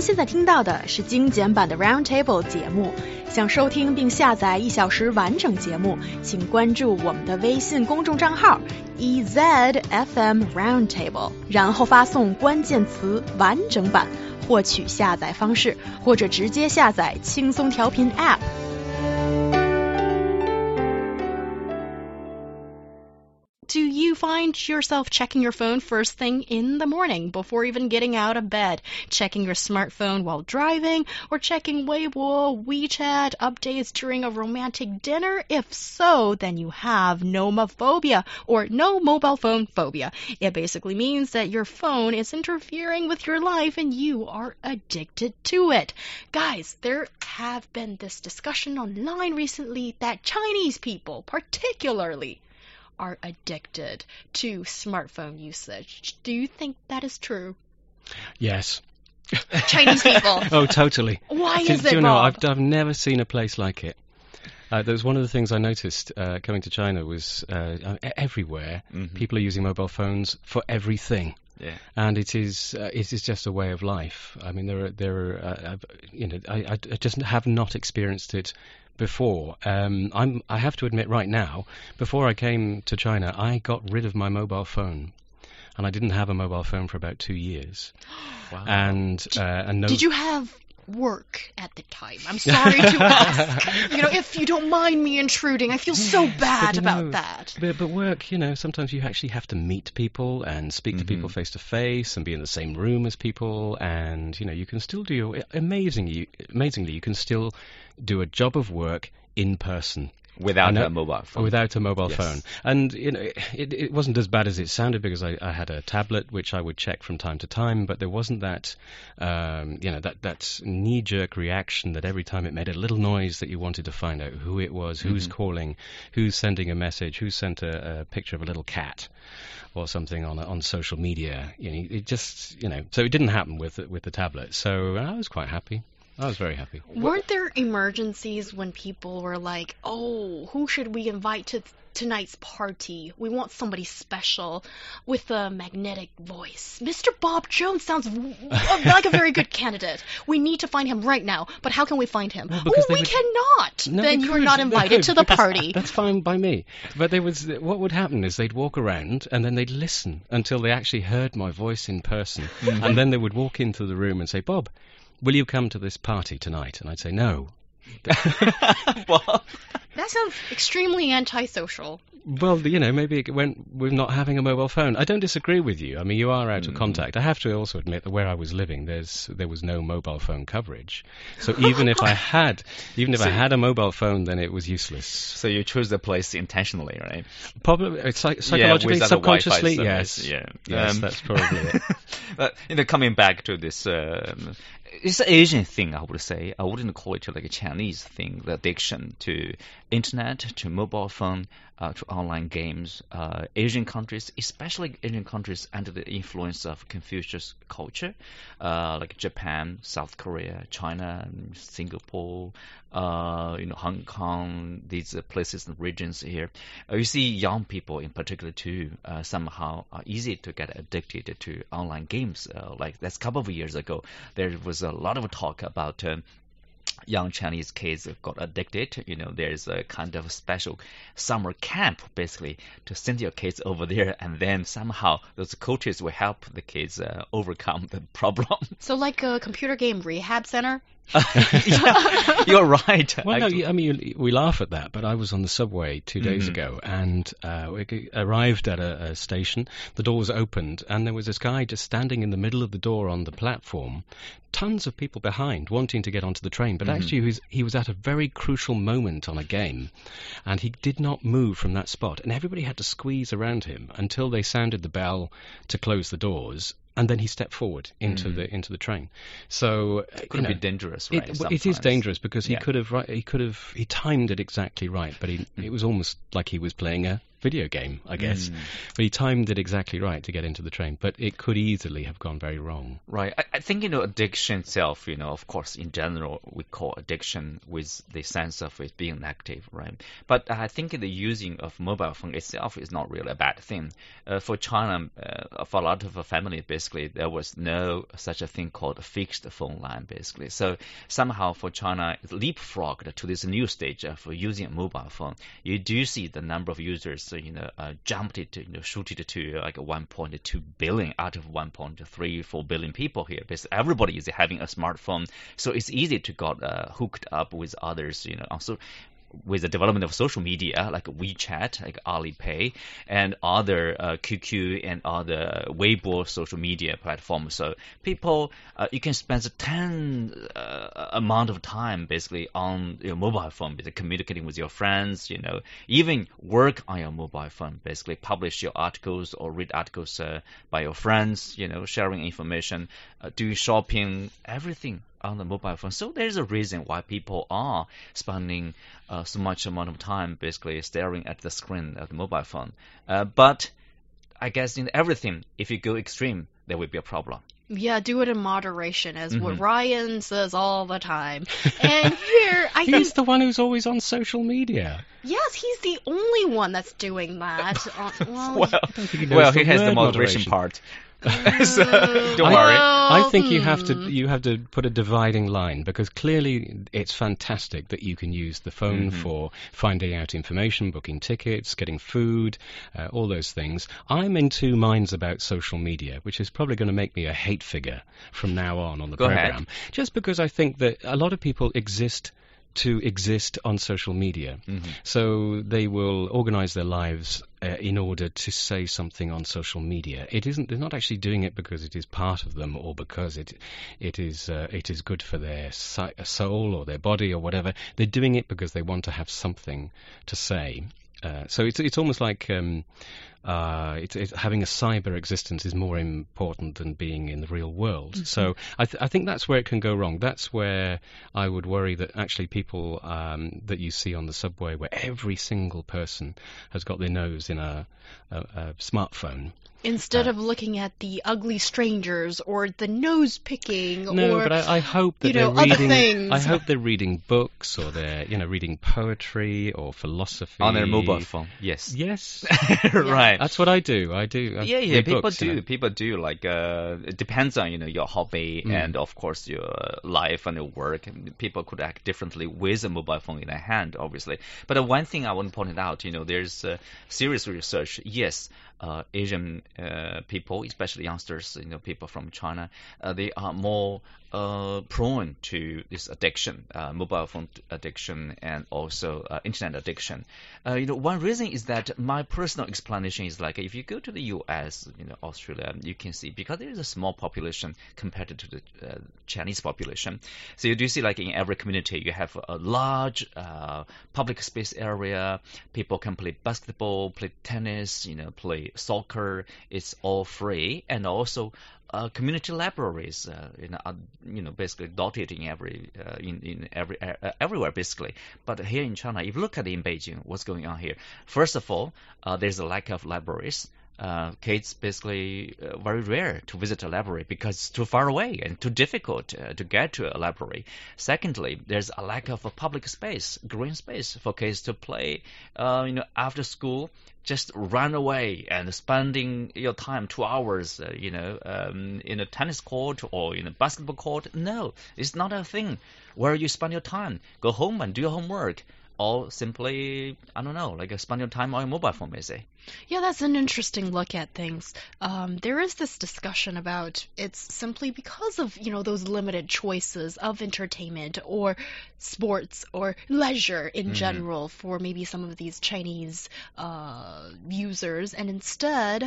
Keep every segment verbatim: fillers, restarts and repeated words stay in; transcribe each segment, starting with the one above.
现在听到的是精简版的 Roundtable 节目。想收听并下载一小时完整节目，请关注我们的微信公众账号 E Z F M Roundtable， 然后发送关键词完整版获取下载方式，或者直接下载轻松调频 App。Do you find yourself checking your phone first thing in the morning before even getting out of bed, checking your smartphone while driving, or checking Weibo, WeChat updates during a romantic dinner? If so, then you have nomophobia, or no mobile phone phobia. It basically means that your phone is interfering with your life and you are addicted to it. Guys, there have been this discussion online recently that Chinese people, particularly, are addicted to smartphone usage. Do you think that is true? Yes. Chinese people. Oh, totally. Why do, is do it, you know, Bob? I've, I've never seen a place like it. Uh, that was one of the things I noticed uh, coming to China was uh, everywhere mm-hmm. people are using mobile phones for everything. Yeah. And it is uh, it is just a way of life. I mean, there are there are uh, you know I, I just have not experienced it before. Um, I'm I have to admit right now, before I came to China, I got rid of my mobile phone, and I didn't have a mobile phone for about two years. Wow. And uh, and no. Did you have work at the time? I'm sorry to ask. You know, if you don't mind me intruding, I feel so bad but, about know, that. But, but work, you know, sometimes you actually have to meet people and speak mm-hmm. to people face to face and be in the same room as people, and you know, you can still do your amazingly, amazingly, you can still do a job of work in person. Without a mobile phone. Without a mobile yes. phone. And, you know, it, it wasn't as bad as it sounded because I, I had a tablet which I would check from time to time, but there wasn't that, um, you know, that, that knee-jerk reaction that every time it made a little noise that you wanted to find out who it was, mm-hmm. who's calling, who's sending a message, who sent a, a picture of a little cat or something on on social media. You know, it just, you know, so it didn't happen with with the tablet. So I was quite happy. I was very happy. Weren't there emergencies when people were like, oh, who should we invite to tonight's party? We want somebody special with a magnetic voice. Mister Bob Jones sounds like a very good candidate. We need to find him right now. But how can we find him? Well, oh, we would... cannot. No, then you're not invited to the party. That's fine by me. But there was what would happen is they'd walk around and then they'd listen until they actually heard my voice in person. Mm-hmm. And then they would walk into the room and say, Bob, will you come to this party tonight? And I'd say no. Well, that sounds extremely antisocial. Well, you know, maybe it went with not having a mobile phone. I don't disagree with you. I mean, you are out mm. of contact. I have to also admit that where I was living, there's there was no mobile phone coverage. So even if I had, even if so I had a mobile phone, then it was useless. So you chose the place intentionally, right? Probably uh, psych- psychologically, yeah, subconsciously, yes. Yeah, yes, um, that's probably it. But you know, coming back to this. Um, It's an Asian thing, I would say. I wouldn't call it like a Chinese thing, the addiction to internet, to mobile phone, uh, to online games. Uh, Asian countries, especially Asian countries under the influence of Confucius culture, uh, like Japan, South Korea, China, Singapore, uh, you know, Hong Kong, these uh, places and regions here. Uh, you see young people in particular too, uh, somehow are easy to get addicted to online games. Uh, like that's a couple of years ago, there was a lot of talk about uh, young Chinese kids got addicted. You know, there's a kind of special summer camp, basically, to send your kids over there, and then somehow those coaches will help the kids uh, overcome the problem. So like a computer game rehab center? Yeah, you're right. Well, no, I mean, we laugh at that, but I was on the subway two days mm-hmm. ago, and uh, we arrived at a, a station. The doors opened, and there was this guy just standing in the middle of the door on the platform. Tons of people behind wanting to get onto the train, but mm-hmm. actually he was, he was at a very crucial moment on a game, and he did not move from that spot, and everybody had to squeeze around him until they sounded the bell to close the doors. And then he stepped forward into mm. the into the train. So it could you know, be dangerous, right? It, it is dangerous because he yeah. could have right, he could have he timed it exactly right, but he, it was almost like he was playing a video game, I guess. Mm. But he timed it exactly right to get into the train. But it could easily have gone very wrong. Right. I, I think, you know, addiction itself, you know, of course, in general, we call addiction with the sense of it being negative, right? But I think the using of mobile phone itself is not really a bad thing. Uh, for China, uh, for a lot of families, basically, there was no such a thing called a fixed phone line, basically. So somehow for China, it leapfrogged to this new stage of using a mobile phone. You do see the number of users, you know, uh, jumped it, you know, shooted to like one point two billion out of one point three four billion people here. Basically, everybody is having a smartphone, so it's easy to get uh, hooked up with others, you know. Also, with the development of social media like WeChat, like Alipay, and other uh, Q Q and other Weibo social media platforms. So people, uh, you can spend a ten uh, amount of time basically on your mobile phone, basically communicating with your friends, you know, even work on your mobile phone, basically publish your articles or read articles uh, by your friends, you know, sharing information, uh, doing shopping, everything on the mobile phone. So there's a reason why people are spending uh, so much amount of time basically staring at the screen of the mobile phone. Uh, but I guess in everything, if you go extreme, there will be a problem. Yeah, do it in moderation, as Mm-hmm. what Ryan says all the time. And here, I He's think, the one who's always on social media. yes, he's the only one that's doing that. Uh, well, Well, I don't think he knows well, the he has the word moderation, moderation. part. mm, So don't I- worry. well, I think you have to hmm. you have to put a dividing line, because clearly it's fantastic that you can use the phone Mhm. for finding out information, booking tickets, getting food, uh, all those things. I'm in two minds about social media, which is probably going to make me a hate figure from now on on the Go ahead. program. Just because I think that a lot of people exist to exist on social media. Mhm. So they will organize their lives uh, in order to say something on social media. It isn't. They're not actually doing it because it is part of them or because it it is uh, it is good for their si- soul or their body or whatever. They're doing it because they want to have something to say. Uh, so it's it's almost like um, uh, it's, it's having a cyber existence is more important than being in the real world. Mm-hmm. So I, th- I think that's where it can go wrong. That's where I would worry that actually people um, that you see on the subway, where every single person has got their nose in a, a, a smartphone. Instead Uh, of looking at the ugly strangers or the nose picking No, or but I, I hope that you they're know, other reading. things. I hope they're reading books, or they're you know reading poetry or philosophy On their mobile phone, yes. Yes, Right. that's what I do. I do. I Yeah, yeah, read people books, you do. know. People do. Like, uh, it depends on, you know, your hobby Mm. and, of course, your life and your work. And people could act differently with a mobile phone in their hand, obviously. But uh, one thing I want to point out, you know, there's uh, serious research. Yes, uh, Asian uh, people, especially youngsters, you know, people from China, uh, they are more uh, prone to this addiction, uh, mobile phone addiction, and also uh, internet addiction. Uh, you know, one reason is that my personal explanation is like if you go to the U S, you know, Australia, you can see because there is a small population compared to the uh, Chinese population. So you do see like in every community you have a large uh, public space area. People can play basketball, play tennis, you know, play soccer. It's all free, and also uh, community libraries, uh, you know, are, you know, basically dotted in every, uh, in in every uh, everywhere basically. But here in China, if you look at it in Beijing, what's going on here? First of all, uh, there's a lack of libraries. Uh, kids basically uh, very rare to visit a library because it's too far away and too difficult uh, to get to a library. Secondly, there's a lack of a public space, green space for kids to play. Uh, you know, after school, just run away and spending your time two hours, uh, you know, um, in a tennis court or in a basketball court. No, it's not a thing where you spend your time. Go home and do your homework. Or simply, I don't know, like uh, spend your time on your mobile phone, maybe. Yeah, that's an interesting look at things. Um, there is this discussion about it's simply because of, you know, those limited choices of entertainment or sports or leisure in Mhm. general for maybe some of these Chinese uh, users, and instead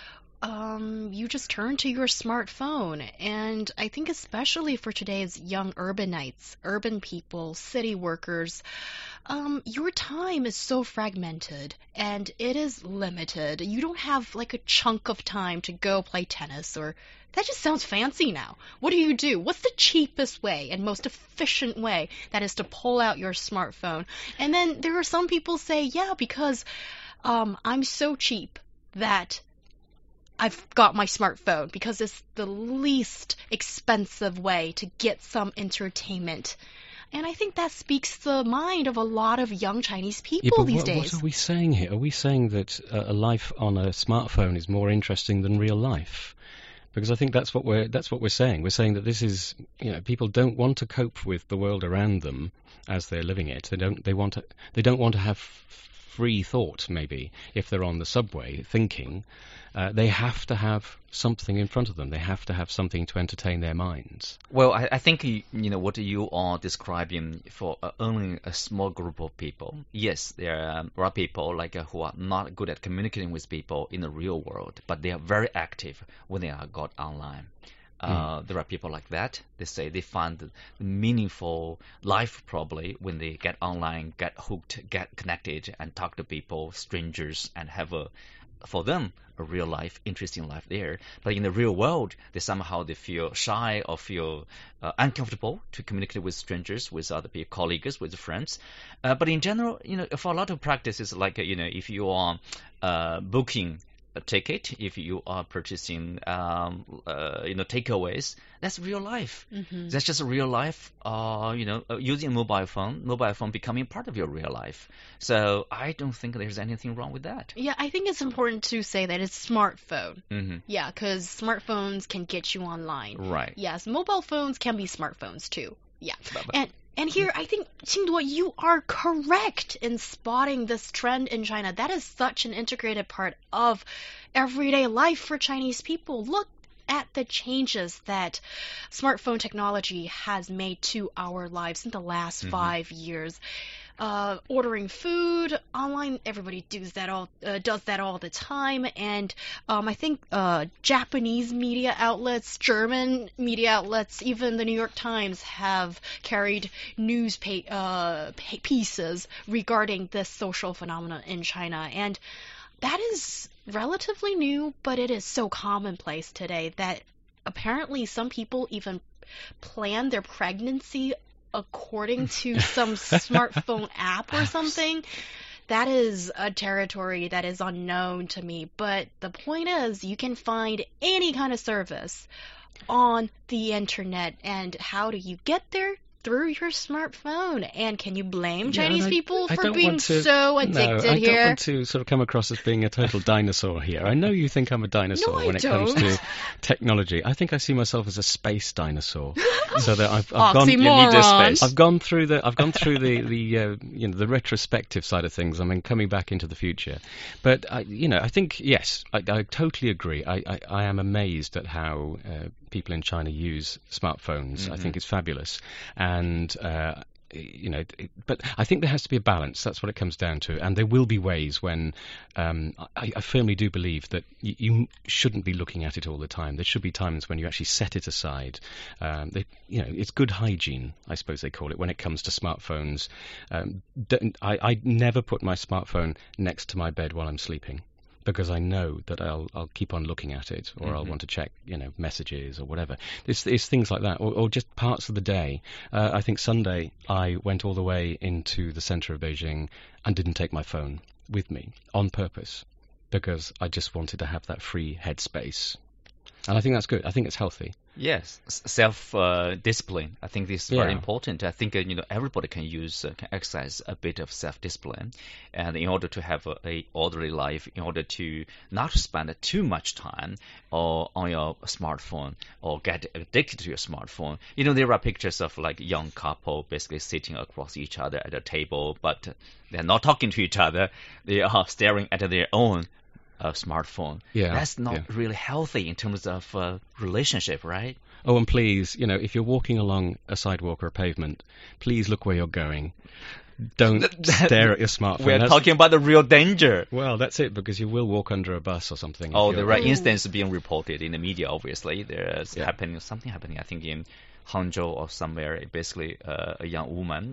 um, you just turn to your smartphone. And I think especially for today's young urbanites, urban people, city workers, um, your time is so fragmented and it is limited. You don't have like a chunk of time to go play tennis or that just sounds fancy now. What do you do? What's the cheapest way and most efficient way? That is to pull out your smartphone. And then there are some people say, yeah, because um, I'm so cheap that I've got my smartphone because it's the least expensive way to get some entertainment. And I think that speaks the mind of a lot of young Chinese people yeah, but these what, days. What are we saying here? Are we saying that uh, a life on a smartphone is more interesting than real life? Because I think that's what we're that's what we're saying. We're saying that this is, you know, people don't want to cope with the world around them as they're living it. They don't. They want to. They don't want to have free thought. Maybe if they're on the subway thinking, uh, they have to have something in front of them. They have to have something to entertain their minds. Well, I, I think you, you know what you are describing for uh, only a small group of people. Yes, there are, there are people like uh, who are not good at communicating with people in the real world, but they are very active when they are got online. Uh, mm. There are people like that. They say they find meaningful life probably when they get online, get hooked, get connected, and talk to people, strangers, and have a, for them, a real life, interesting life there. But in the real world, they somehow they feel shy or feel uh, uncomfortable to communicate with strangers, with other people, colleagues, with friends. Uh, but in general, you know, for a lot of practices, like uh, you know, if you are uh, booking a ticket, if you are purchasing, um, uh, you know, takeaways, that's real life. Mm-hmm. That's just real life. Uh, you know, uh, using a mobile phone, mobile phone becoming part of your real life. So I don't think there's anything wrong with that. Yeah, I think it's important to say that it's smartphone. Mm-hmm. Yeah, because smartphones can get you online. Right. Yes, mobile phones can be smartphones too. Yeah, but, but, and. And here, I think, Qingduo, you are correct in spotting this trend in China. That is such an integrated part of everyday life for Chinese people. Look at the changes that smartphone technology has made to our lives in the last mm-hmm. five years. Uh, ordering food online, everybody does that all uh, does that all the time, and um, I think uh, Japanese media outlets, German media outlets, even the New York Times have carried news pa- uh, pa- pieces regarding this social phenomenon in China, and that is relatively new, but it is so commonplace today that apparently some people even plan their pregnancy according to some smartphone app or something. That is a territory that is unknown to me. But the point is, you can find any kind of service on the internet. And how do you get there? Through your smartphone. And can you blame yeah, Chinese I, people I for being to, so addicted no, I here? I don't want to sort of come across as being a total dinosaur here. I know you think I'm a dinosaur no, when I it don't. comes to technology. I think I see myself as a space dinosaur. So that I've, I've gone. You need a space. I've gone through the. I've gone through the the uh, you know the retrospective side of things. I mean, coming back into the future. But I, you know, I think yes, I, I totally agree. I, I, I am amazed at how uh, people in China use smartphones. Mm-hmm. I think it's fabulous, and. Uh, You know, but I think there has to be a balance. That's what it comes down to. And there will be ways when um, I, I firmly do believe that you, you shouldn't be looking at it all the time. There should be times when you actually set it aside. Um, they, you know, it's good hygiene, I suppose they call it, when it comes to smartphones. Um, I, I never put my smartphone next to my bed while I'm sleeping, because I know that I'll I'll keep on looking at it, or mm-hmm. I'll want to check, you know, messages or whatever. It's, it's things like that, or, or just parts of the day. Uh, I think Sunday I went all the way into the center of Beijing and didn't take my phone with me on purpose, because I just wanted to have that free headspace. And I think that's good. I think it's healthy. Yes, self-discipline. Uh, I think this is yeah. very important. I think uh, you know everybody can use, uh, can exercise a bit of self-discipline, and in order to have a, a orderly life, in order to not spend too much time or on your smartphone or get addicted to your smartphone. You know, there are pictures of like young couple basically sitting across each other at a table, but they're not talking to each other. They are staring at their own a smartphone. Yeah, that's not yeah. really healthy in terms of uh, relationship, right? Oh, and please, you know, if you're walking along a sidewalk or a pavement, please look where you're going. Don't stare at your smartphone. We're that's, talking about the real danger. Well, that's it, because you will walk under a bus or something. Oh, there are instances being reported in the media, obviously. There's yeah. happening, something happening, I think, in Hangzhou or somewhere. Basically, uh, a young woman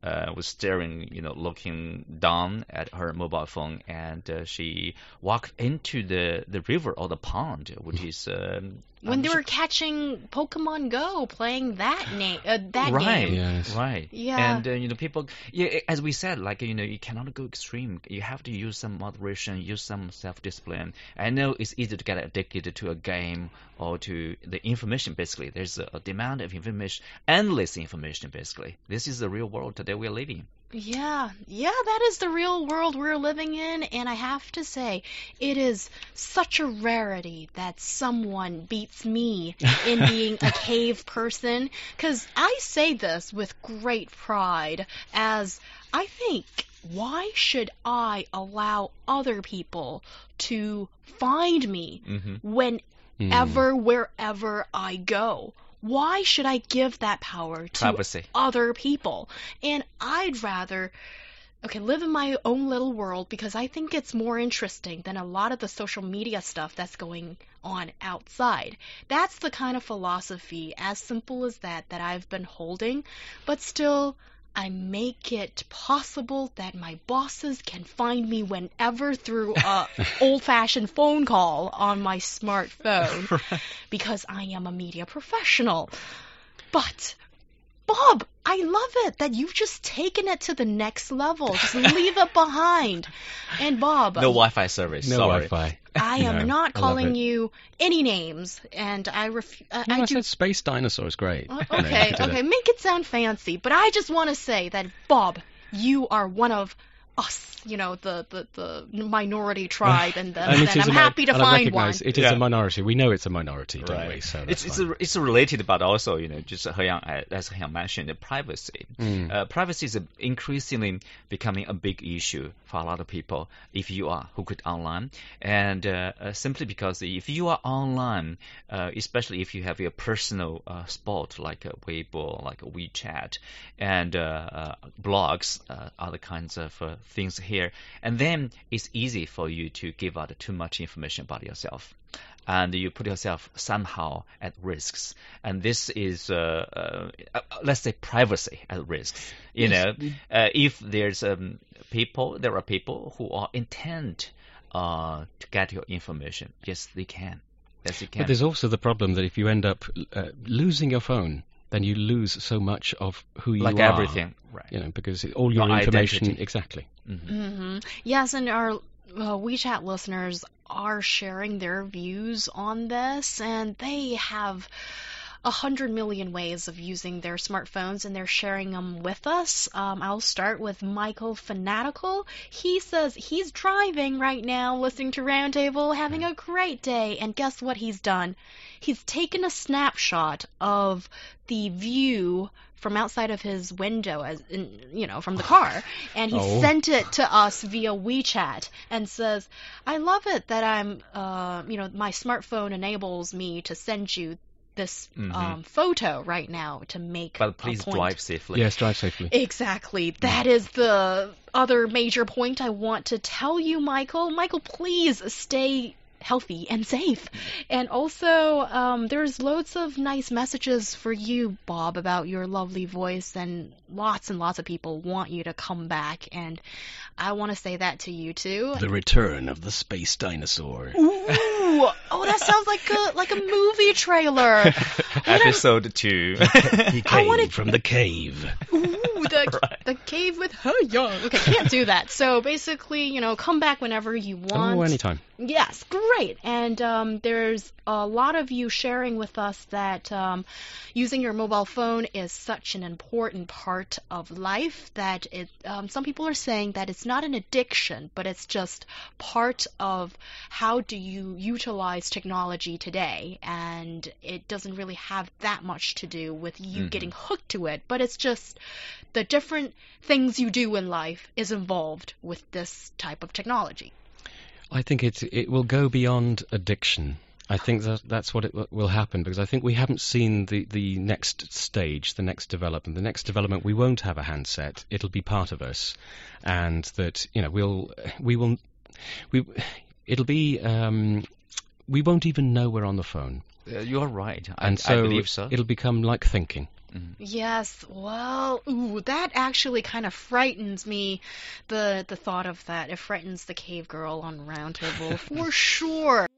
uh, was staring, you know, looking down at her mobile phone, and uh, she walked into the, the river or the pond, which is um, when I'm they sure- were catching Pokemon Go, playing that name, uh, that right, game. Yes. right. Yeah. And uh, you know, people, yeah, as we said, like you know, you cannot go extreme. You have to use some moderation, use some self-discipline. I know it's easy to get addicted to a game or to the information. Basically, there's a, a demand of information, endless information. Basically, this is the real world today we're living. Yeah, yeah, that is the real world we're living in, and I have to say, it is such a rarity that someone beats me in being a cave person, because I say this with great pride, as I think, why should I allow other people to find me Mm-hmm. whenever, wherever I go? Why should I give that power to Privacy. other people? And I'd rather, okay, live in my own little world because I think it's more interesting than a lot of the social media stuff that's going on outside. That's the kind of philosophy, as simple as that, that I've been holding, but still, I make it possible that my bosses can find me whenever through a old-fashioned phone call on my smartphone because I am a media professional. But, Bob, I love it that you've just taken it to the next level. Just leave it behind. And Bob, No Wi-Fi service. No sorry. Wi-Fi. I am No, not I love calling it. you any names, and I ref- uh, No, I I do said space dinosaur is great. Uh, You know, Okay, you did okay, it. make it sound fancy, but I just want to say that, Bob, you are one of us, you know, the, the, the minority tribe, and, then, And it then is I'm a mi- happy to and I find one. recognise it is Yeah. a minority. We know it's a minority, don't Right. we? So It's that's it's, fine. a, it's related, but also you know, just He Yang, uh, as He Yang mentioned, the privacy. Mm. Uh, privacy is a, increasingly becoming a big issue for a lot of people. If you are hooked online, and uh, uh, simply because if you are online, uh, especially if you have your personal uh, spot like a Weibo, like a WeChat, and uh, uh, blogs, uh, other kinds of uh, things here, and then it's easy for you to give out too much information about yourself. And you put yourself somehow at risks, and this is, uh, uh, uh, let's say, privacy at risk. You Yes. know, uh, if there's um, people, there are people who are intent uh, to get your information. Yes, they can. Yes, they can. But there's also the problem that if you end up uh, losing your phone, then you lose so much of who you like are. everything, right? You know, because all your Your information, identity. exactly. hmm Yes, and our uh, WeChat listeners are sharing their views on this, and they have a hundred million ways of using their smartphones, and they're sharing them with us. Um, I'll start with Michael Fanatical. He says he's driving right now, listening to Roundtable, having a great day, and guess what he's done? He's taken a snapshot of the view from outside of his window, as in, you know, from the car, and he Oh. sent it to us via WeChat and says, "I love it that I'm, uh, you know, my smartphone enables me to send you this Mhm. um, photo right now to make But a please point." drive safely. Yes, drive safely. Exactly. That is the other major point I want to tell you, Michael. Michael, please stay healthy and safe. And also, um, there's loads of nice messages for you, Bob, about your lovely voice, and lots and lots of people want you to come back, and I want to say that to you too. The return of the space dinosaur. Ooh, oh, that sounds like a like a movie trailer. What am- Episode two. He I came wanna- from the cave. Ooh, the, Right. the cave with her young. Okay, can't do that. So basically, you know, come back whenever you want. Oh, anytime. Yes, great. And um, there's a lot of you sharing with us that um, using your mobile phone is such an important part of life that it. Um, some people are saying that it's not an addiction, but it's just part of how do you utilize technology today, and it doesn't really have that much to do with you Mhm. getting hooked to it, but it's just the different things you do in life is involved with this type of technology. I think it it will go beyond addiction. I think that that's what it w- will happen, because I think we haven't seen the, the next stage, the next development. The next development, we won't have a handset. It'll be part of us, and that you know we'll we will we it'll be um, we won't even know we're on the phone, Uh, you're right. I, and I so believe so. it'll become like thinking. Mm. Yes, well, ooh, that actually kind of frightens me. The the thought of that, it frightens the cave girl on Round Table for sure.